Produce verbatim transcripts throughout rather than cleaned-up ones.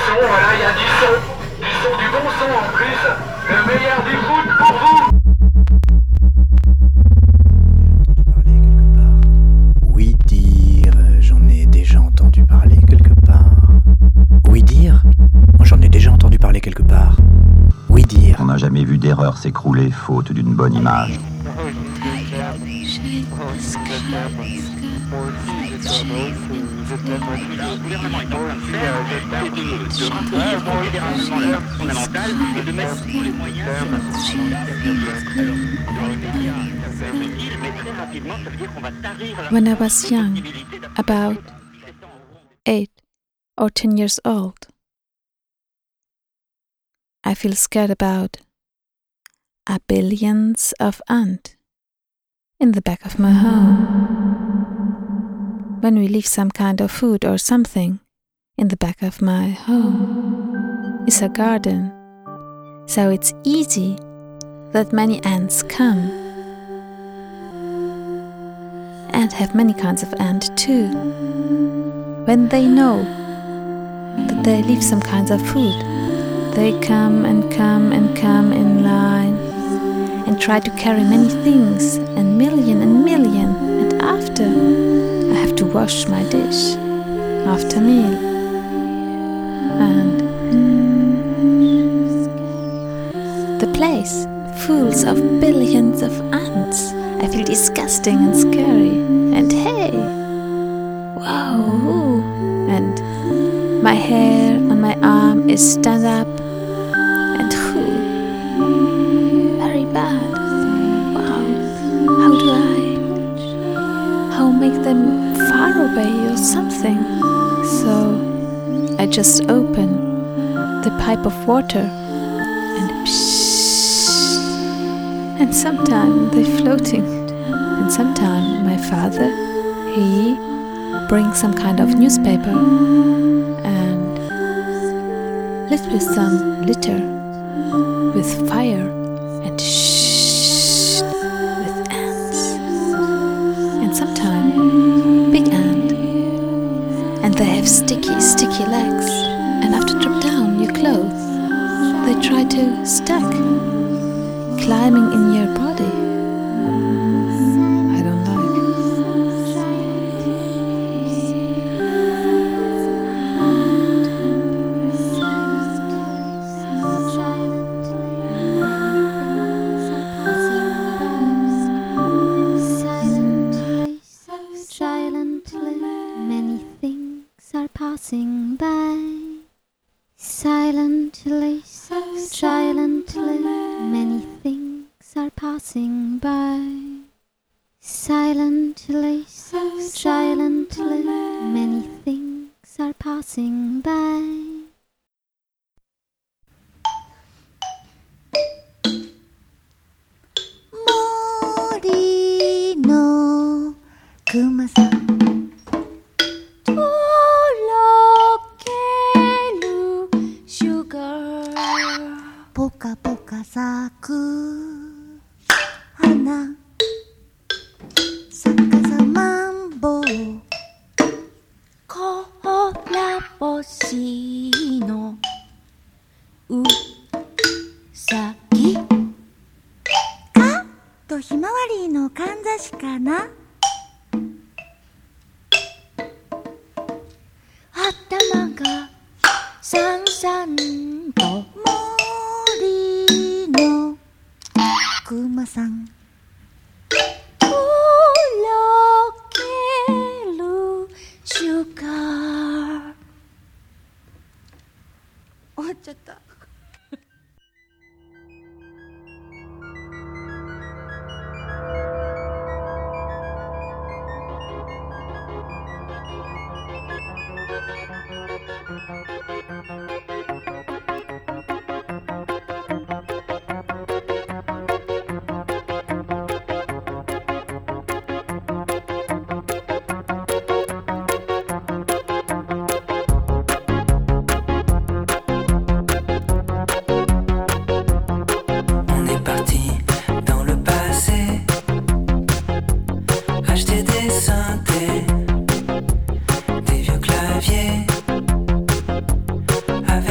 son, voilà, il y a du son. Du son, du bon son en plus. Le meilleur du foot pour vous. Oui dire, j'en ai déjà entendu parler quelque part. Oui dire, moi j'en ai déjà entendu parler quelque part. Oui dire. On n'a jamais vu d'erreur s'écrouler faute d'une bonne image. When I was young, about eight or ten years old, I feel scared about a billions of ants in the back of my home. When we leave some kind of food or something in the back of my home is a garden, so it's easy that many ants come and have many kinds of ant too. When they know that they leave some kinds of food, they come and come and come in line and try to carry many things, and million and million, and after I have to wash my dish after meal. And the place full of billions of ants. I feel disgusting and scary. And hey, wow! And my hair on my arm is stand up. And whoo, very bad. Wow! How do I? How make them far away or something? So I just open the pipe of water and psh. And sometimes they're floating. And sometimes my father, he brings some kind of newspaper and lifts with some litter, with fire and shh, with ants. And sometimes big ant. And they have sticky, sticky legs. And after drop down your clothes, they try to stack, climbing in your body. I don't like. Silently, many things are passing by. Silently, silently, many things are passing by. Silently, silently, many things are passing by. Mori no kumaさんとろけるシュガーポカポカ咲く花逆さマンボウこら星のうさぎかとひまわりのかんざしかな頭がさんさんと森のくまさんとろけるシュガー終わっちゃった Des vieux claviers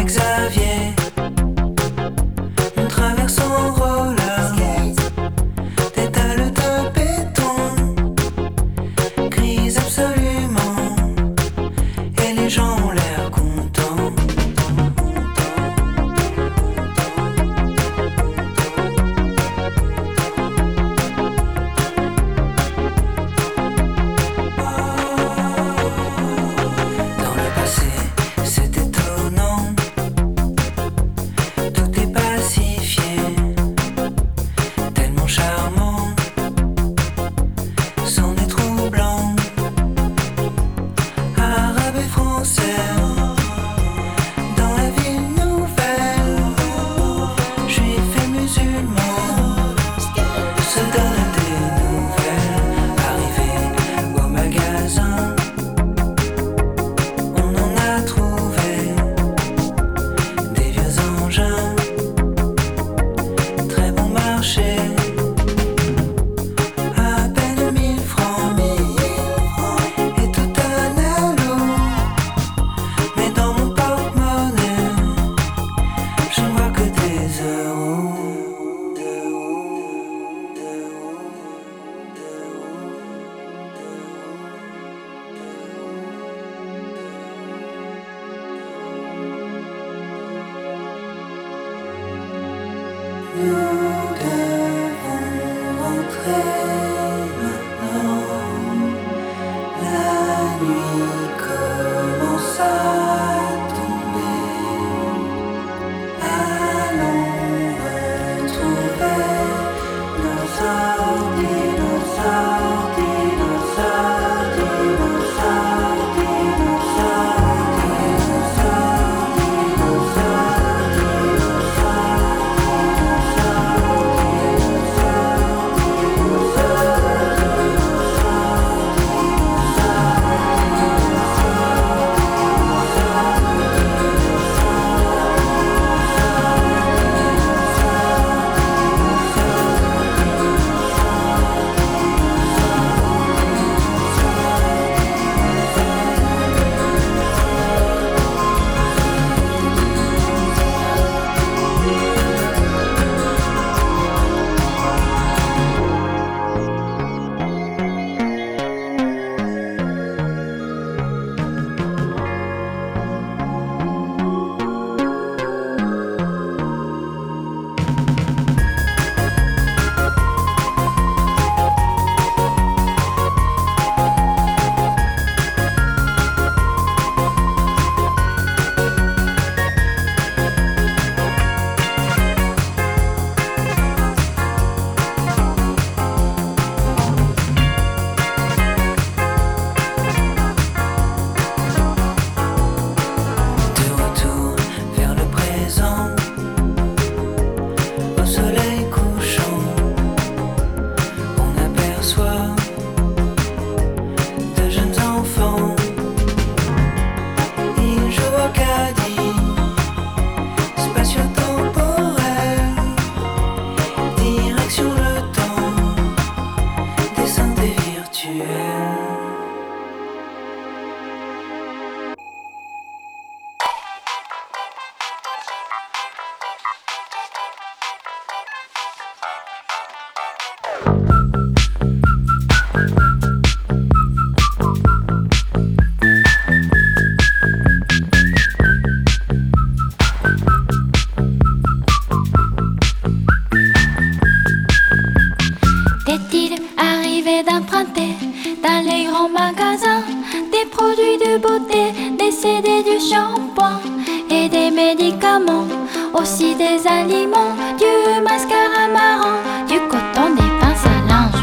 Aussi des aliments, du mascara marron, du coton, des pinces à linge.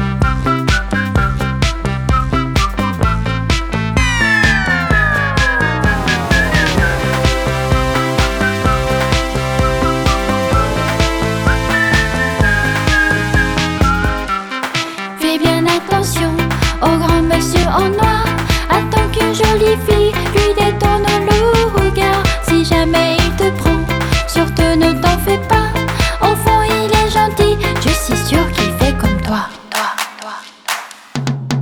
Fais bien attention au grand monsieur en noir. Attends qu'une jolie fille lui détourne le regard. Si jamais il te prend, surtout ne t'en fais pas. Au fond il est gentil, je suis sûre qu'il fait comme toi. Toi, toi.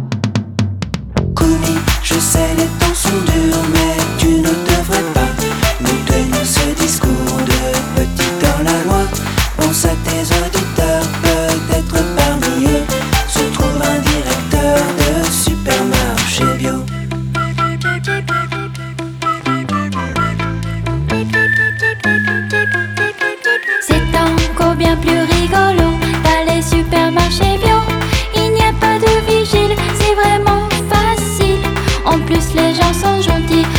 Kumi, je sais les temps sont durs, mais tu ne devrais pas nous tenir ce discours de petit dans la loi. Pense à tes auditeurs, peut-être parmi eux se trouve un directeur de supermarché bio. C'est encore bien plus rigolo dans les supermarchés bio. Il n'y a pas de vigile, c'est vraiment facile. En plus les gens sont gentils,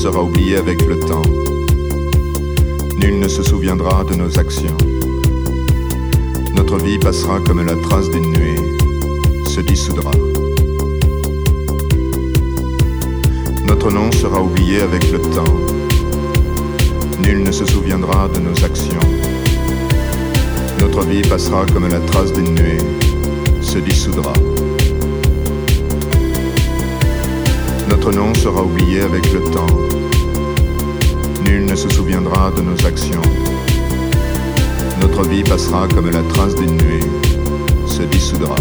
sera oublié avec le temps. Nul ne se souviendra de nos actions. Notre vie passera comme la trace d'une nuée, se dissoudra. Notre nom sera oublié avec le temps. Nul ne se souviendra de nos actions. Notre vie passera comme la trace d'une nuée, se dissoudra. Notre nom sera oublié avec le temps. Nul ne se souviendra de nos actions. Notre vie passera comme la trace d'une nuée, se dissoudra.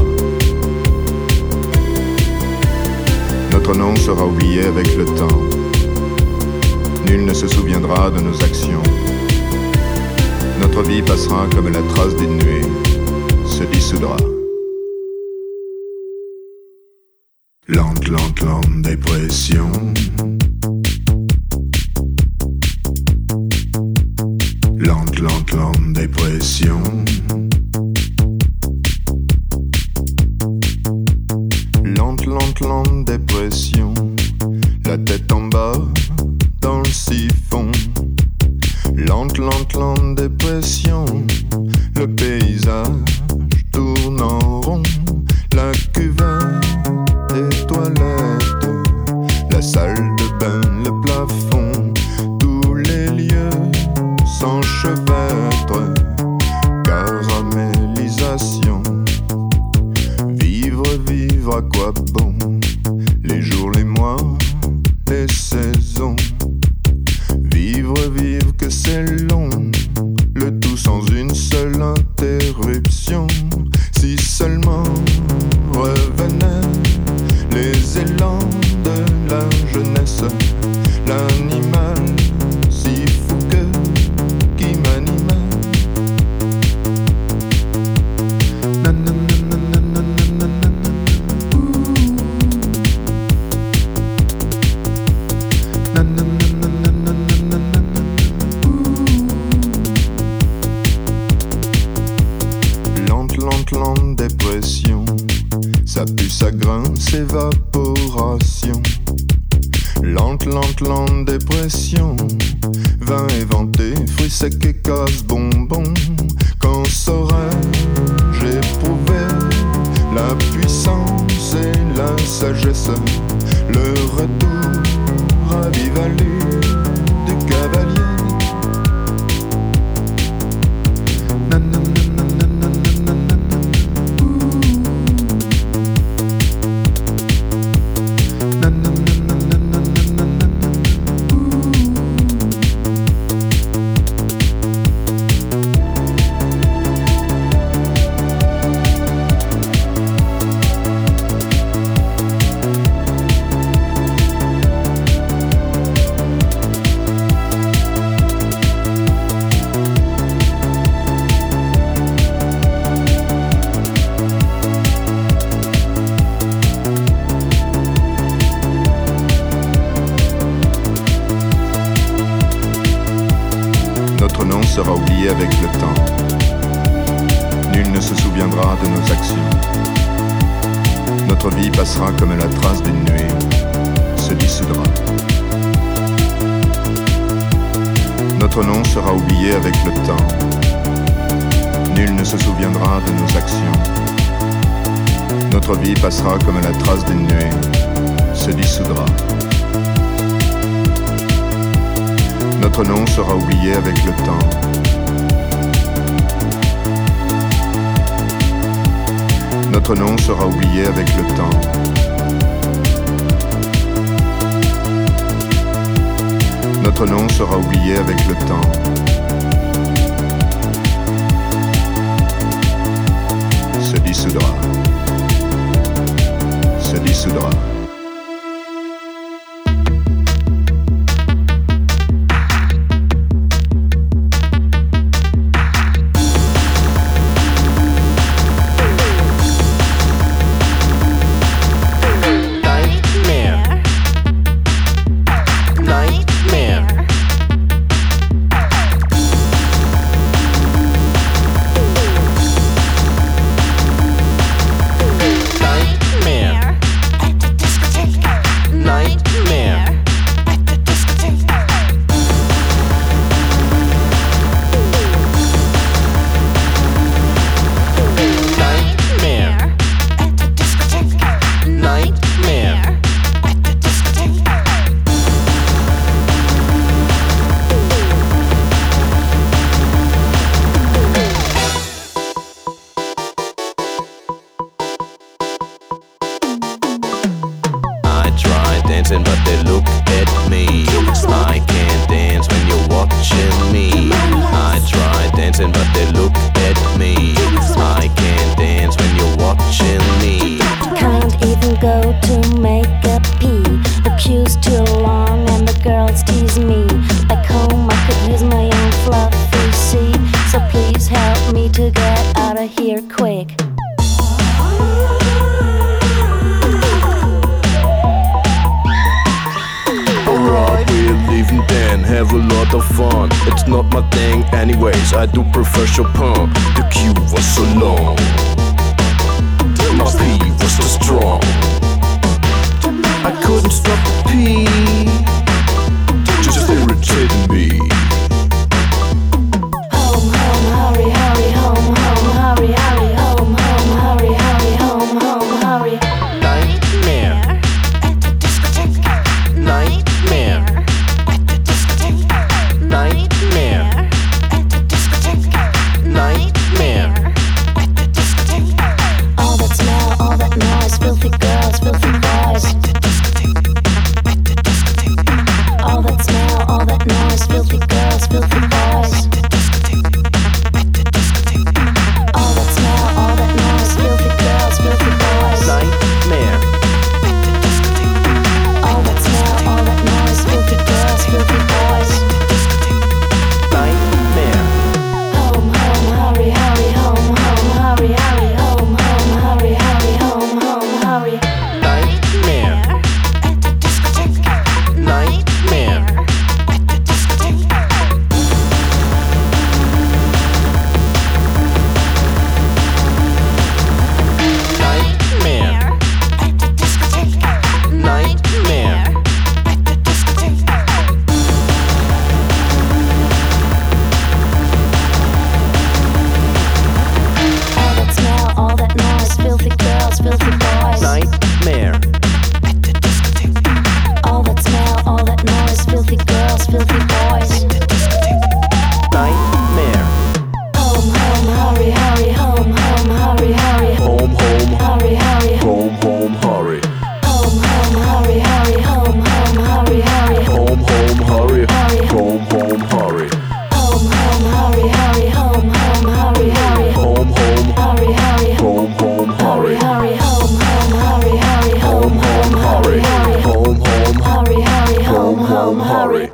Notre nom sera oublié avec le temps. Nul ne se souviendra de nos actions. Notre vie passera comme la trace d'une nuée, se dissoudra. Lente, lente, lente dépression. Lente, lente, lente dépression. Lente, lente, lente dépression. La tête en bas dans le siphon. Lente, lente, lente dépression. Le paysage tourne en rond. La cuvette des toilettes, la salle de bain, le plafond, tous les lieux s'enchevêtrent. Caramélisation. Vivre, vivre, à quoi bon? Les jours, les mois, les saisons. Vivre, vivre, que c'est long. Le tout sans une seule interruption. Si seulement revenaient les élans de la jeunesse. L'animal si fou que qui m'animait. Lente, lente, lente dépression. Ça pue, ça grince, évaporation. Lente, lente, lente dépression. Vin éventé, fruits secs et casse-bonbons. Quand saurais-je éprouver la puissance et la sagesse, le retour à vive allure du cavalier. Notre nom sera oublié avec le temps. Nul ne se souviendra de nos actions. Notre vie passera comme la trace d'une nuée, se dissoudra. Notre nom sera oublié avec le temps. Nul ne se souviendra de nos actions. Notre vie passera comme la trace d'une nuée, se dissoudra. Notre nom sera oublié avec le temps. Notre nom sera oublié avec le temps. Notre nom sera oublié avec le temps. Se dissoudra. Se dissoudra. dancing, but they look at me. I can't dance when you're watching me. I try dancing, but they look at me. I can't dance when you're watching me. Can't even go to make a pee. The queue's too long and the girls tease me. Back home I could use my own fluffy seat. So please help me to get out of here quick. Alright, we're leaving then, have a lot of fun. It's not my thing anyways, I do prefer Chopin. The queue was so long, my pee was so strong. I couldn't stop the pee, just irritating me. Home, home, hurry, hurry, home, home, hurry, hurry, home, home, hurry, hurry, home, home, hurry. Nightmare At the discotheque. Nightmare At the discotheque. Nightmare At the discotheque. Nightmare At the discotheque. All that smell, all that noise, filthy girls, filthy boys. All that smell, all that noise, filthy girls, filthy boys. All that smell, all that noise, filthy girls, filthy boys. Nightmare All that smell, all that noise, filthy girls, filthy boys. Nightmare Home, home, hurry, hurry, home, home, hurry, hurry, home, home, hurry, hurry, home, home, hurry. Nightmare At the discotheque. Nightmare At the discotheque. Nightmare At the discotheque. Nightmare At the discotheque. All that smell, all that noise, filthy girls, filthy boys. Nightmare At the discotheque. All that smell, all that noise, filthy girls, filthy boys. Nightmare Home, home, hurry, hurry, home, home, hurry, hurry, Home, home, hurry, hurry, home, home, hurry. home, home, hurry, hurry, home, home, hurry, hurry, Home, home, hurry. Hurry. Home, home, hurry. home, home, hurry, hurry, home, home, hurry, hurry, Home, home, hurry, hurry, home, home, hurry, hurry. hurry, home, home, hurry, hurry, Home, home, hurry. hurry, Home, home, hurry, hurry, home, home, hurry.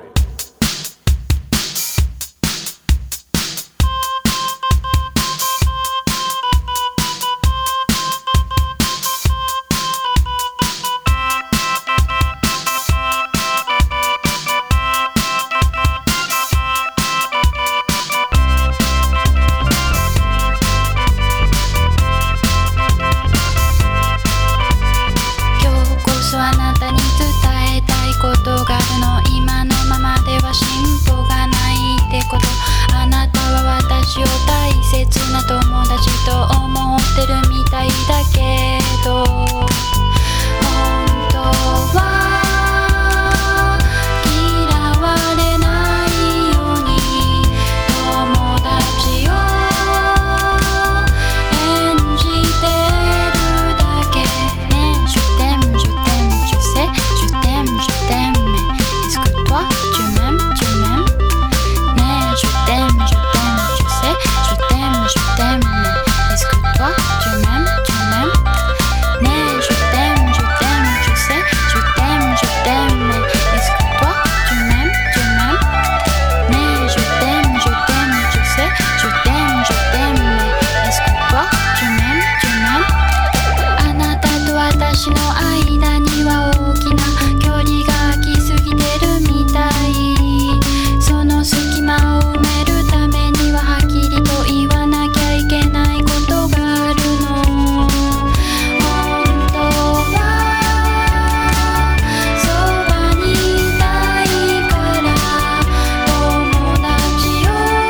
今日こそあなたに伝えたいことがあるの。今のままでは進歩がないってこと。あなたは私を大切な友達と思ってるみたいだけど、本当は嫌われないように友達を演じてるだけね。Je t'aime, je t'aime, je sais, je t'aime, je t'aime, mais est-ce que toi tu m'aimes, tu m'aimes? Mais je t'aime, je t'aime, je sais, je t'aime, je t'aime, mais est-ce que toi tu m'aimes, tu m'aimes? Mais je t'aime, je t'aime, je sais, je t'aime, je t'aime, mais est-ce que toi tu m'aimes, tu m'aimes? Mais je t'aime, je t'aime, je sais, je t'aime, je t'aime, mais est-ce que toi tu m'aimes, tu m'aimes? あなたと私の間には大きな距離が空きすぎてるみたい。その隙間を埋めるためにははっきりと言わなきゃいけないことがあるの。本当はそばにいたいから友達を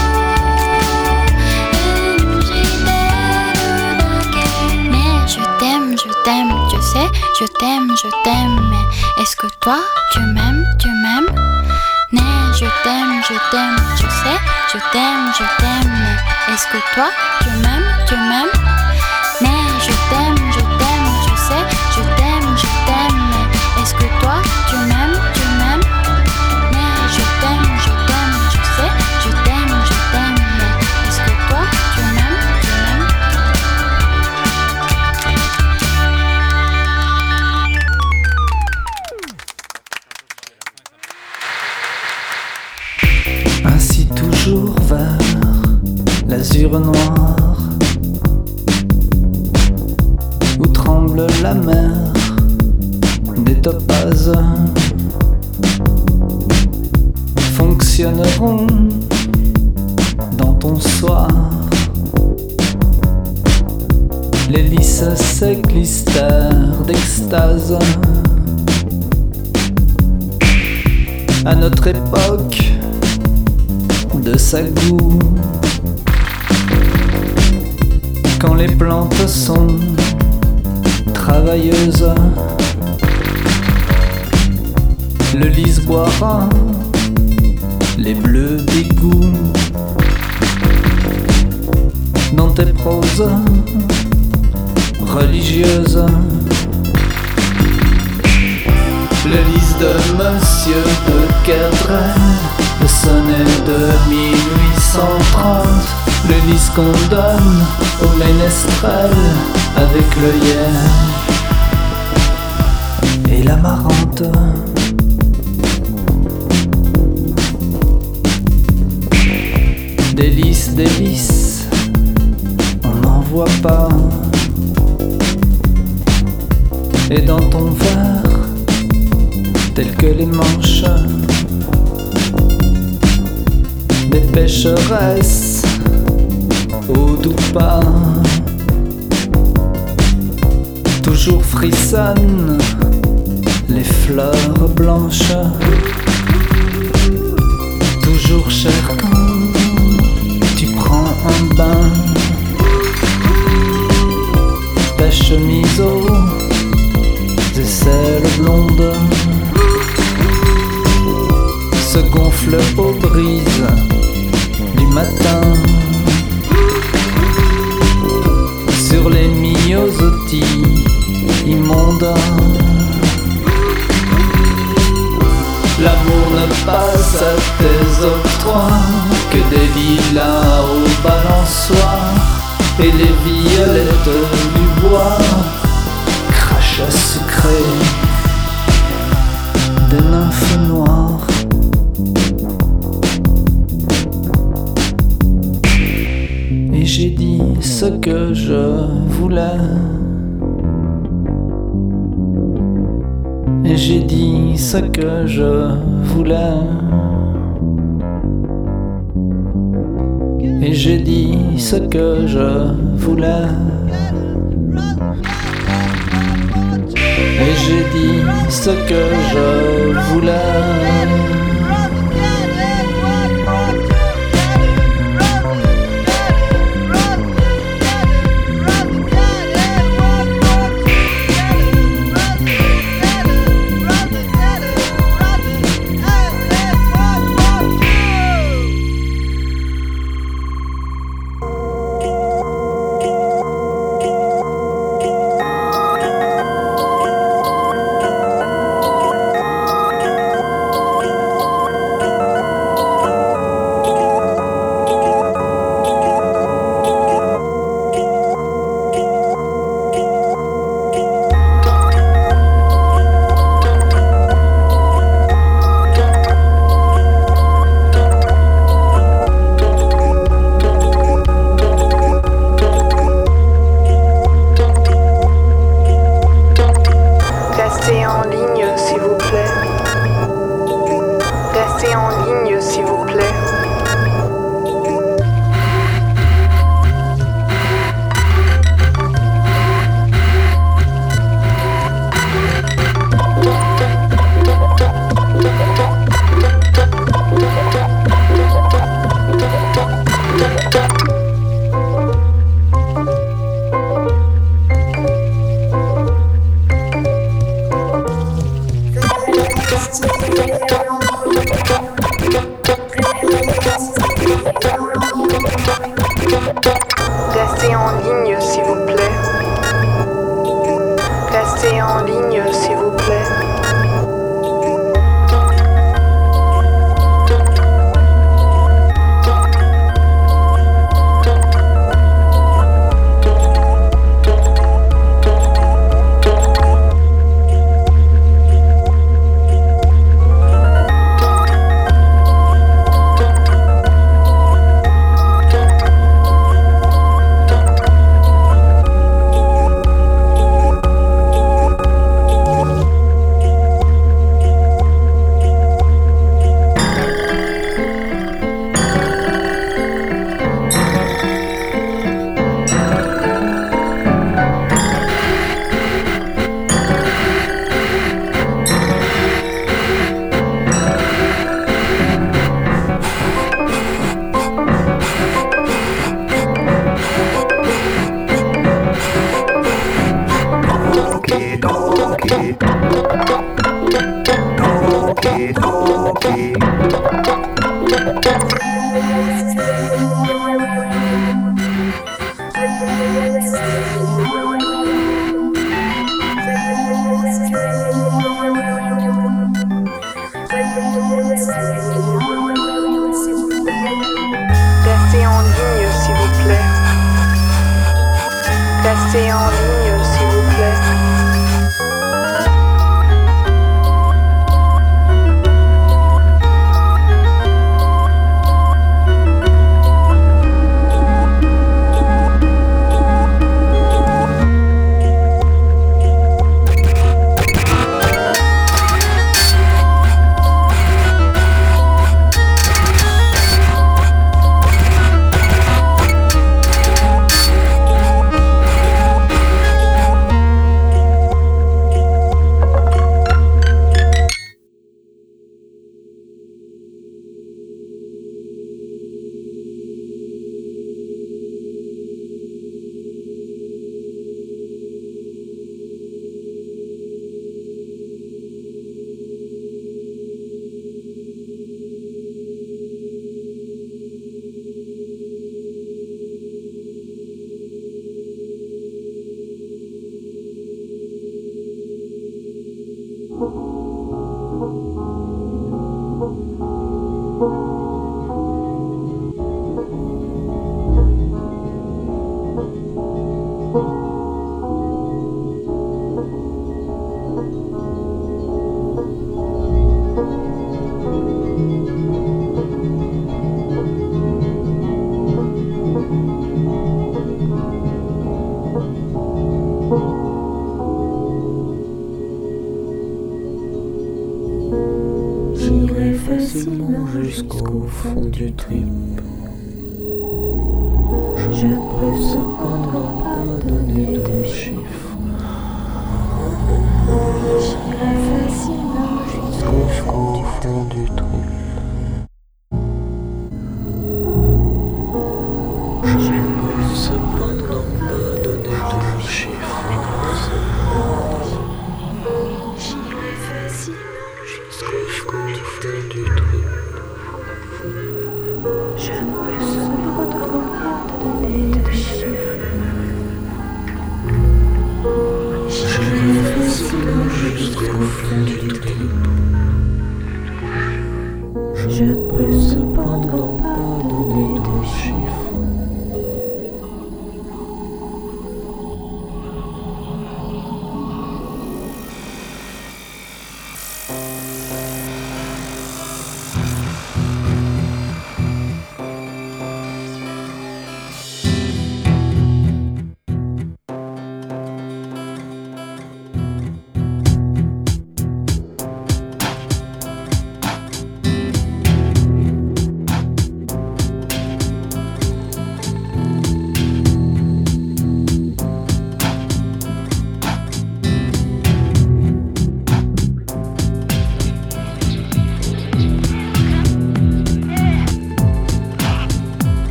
演じてるだけ。Mais je t'aime, je t'aime, je sais, je t'aime, je t'aime, mais est-ce que toi tu m'aimes, tu m'aimes? Mais je t'aime, je t'aime, je sais, je t'aime, je t'aime, mais est-ce que toi tu m'aimes, tu m'aimes? Mais je t'aime, je t'aime, je sais, je t'aime, je t'aime, mais est-ce que toi tu l'azur noir, où tremble la mer des topazes, fonctionneront dans ton soir. Les lys s'éclistèrent d'extase. À notre époque de sagou, quand les plantes sont travailleuses, le lys boira les bleus d'égout dans tes proses religieuses. Le lys de Monsieur de Kerdrel, le sonnet de mille huit cent trente, le lys qu'on donne au ménestrel avec l'œillet et la marante. Des lys, des lys, on n'en voit pas. Et dans ton verre, tels que les manches des pécheresses au doux pas, toujours frissonnent les fleurs blanches, toujours cher quand tu prends un bain, ta chemise aux aisselles blondes se gonfle aux brises du matin sur les myosotis immondes. L'amour ne passe à tes octrois que des lilas au balançoire, et les violettes du bois crachent à sucré des nymphes noires. Et j'ai dit ce que je voulais, et j'ai dit ce que je voulais, et j'ai dit ce que je voulais, et j'ai dit ce que je voulais. Restez en ligne, s'il vous plaît. Restez en ligne, s'il vous plaît. jusqu'au fond du trip. Je peux cependant pas donner de chiffres. J'irai facilement jusqu'au fond du trip. Je peux cependant pas donner de chiffres. J'irai facilement jusqu'au fond du trip. Je peux cependant pas donner de chiffres. J'irai facilement jusqu'au fond du trip. Je peux cependant pas donner de chiffres.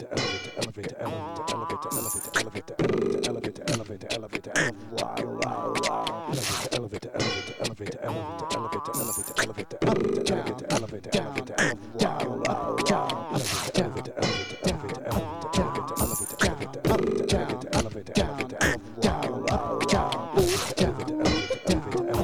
elevator, elevator, elevator, elevator, elevator, elevator, elevator, elevator, elevator, wow, wow, wow, elevator, elevator, elevator, elevator, elevator, elevator, elevator, elevator, elevator, elevator, elevator, wow, wow, wow, elevator, elevator, elevator, elevator, elevator, elevator, elevator, elevator, elevator, elevator, elevator, wow, wow, wow, elevator, elevator, elevator, elevator,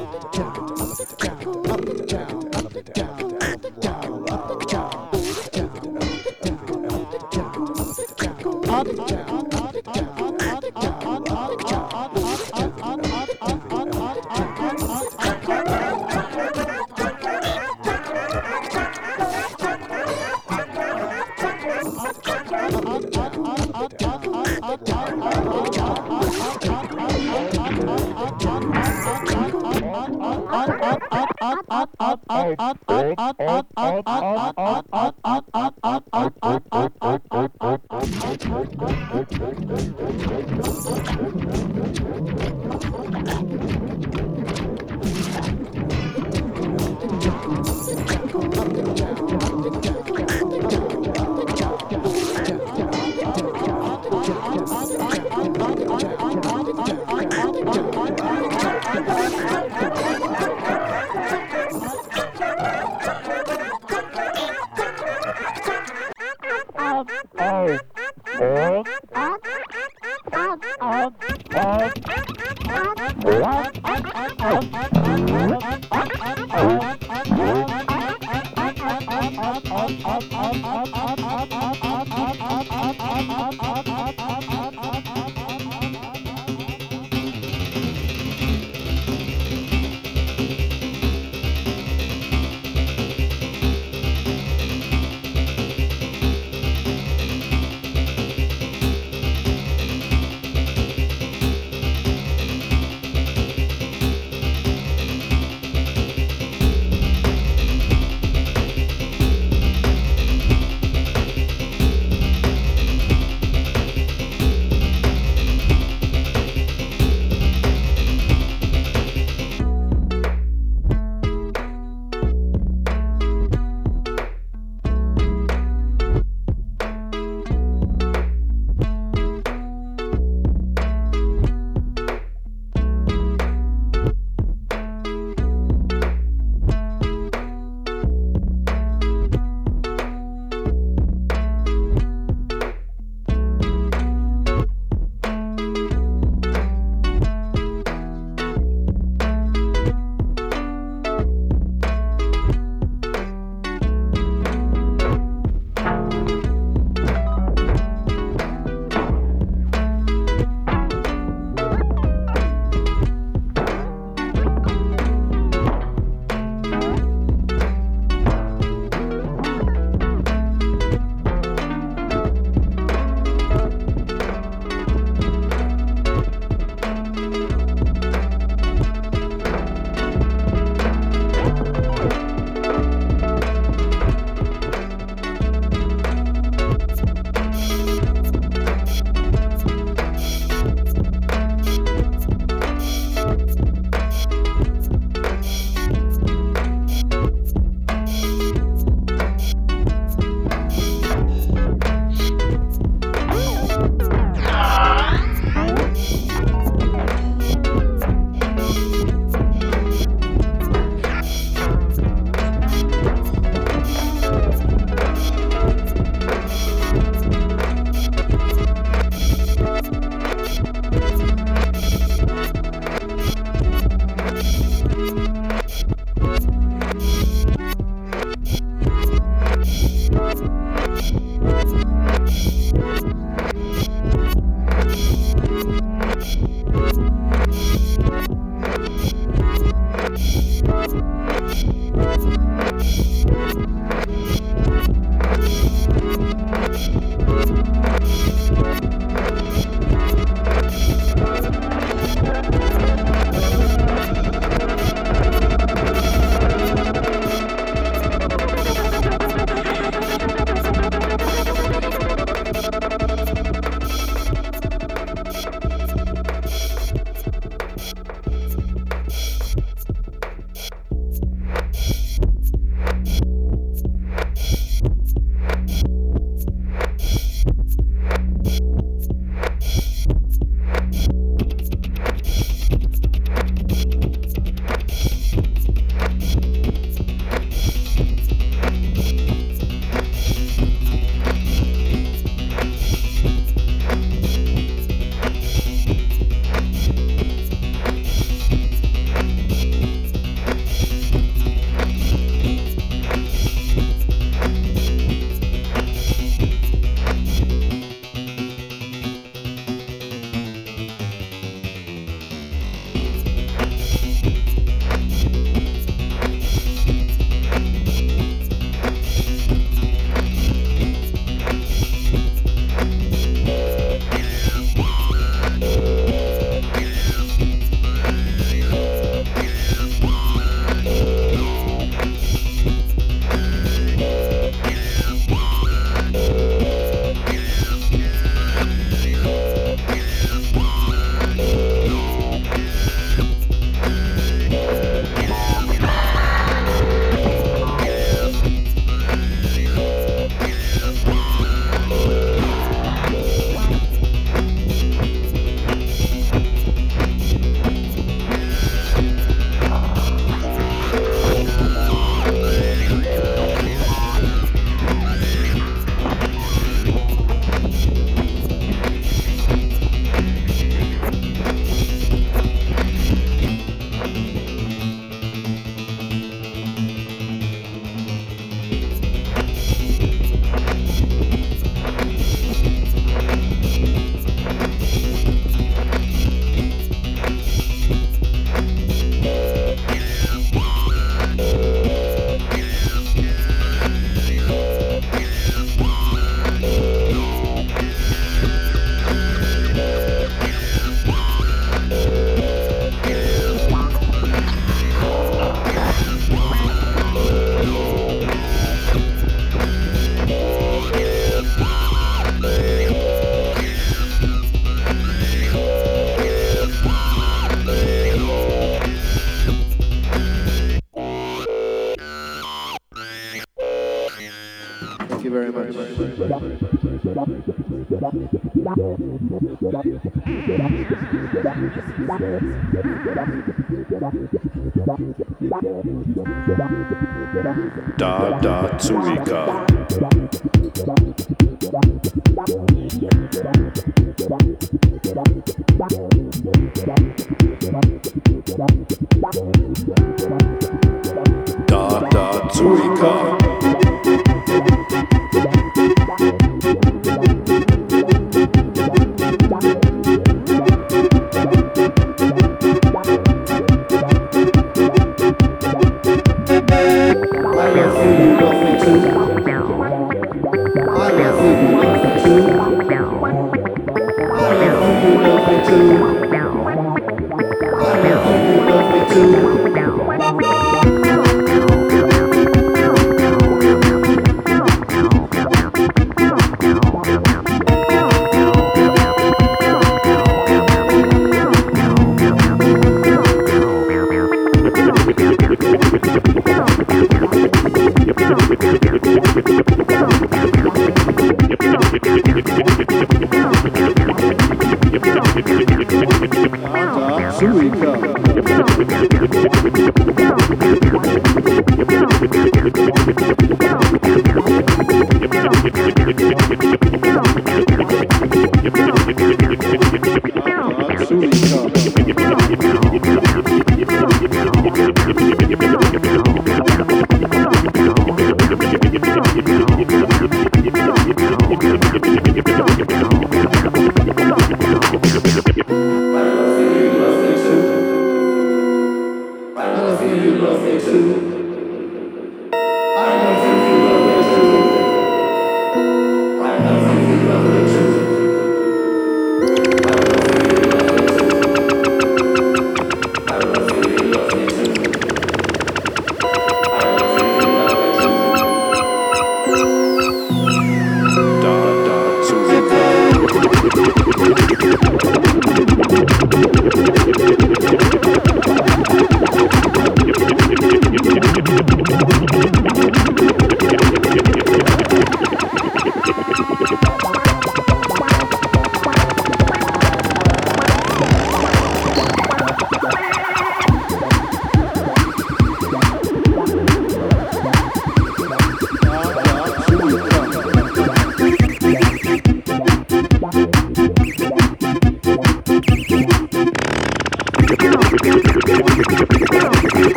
Da Da Zurika. Da Da Zurika.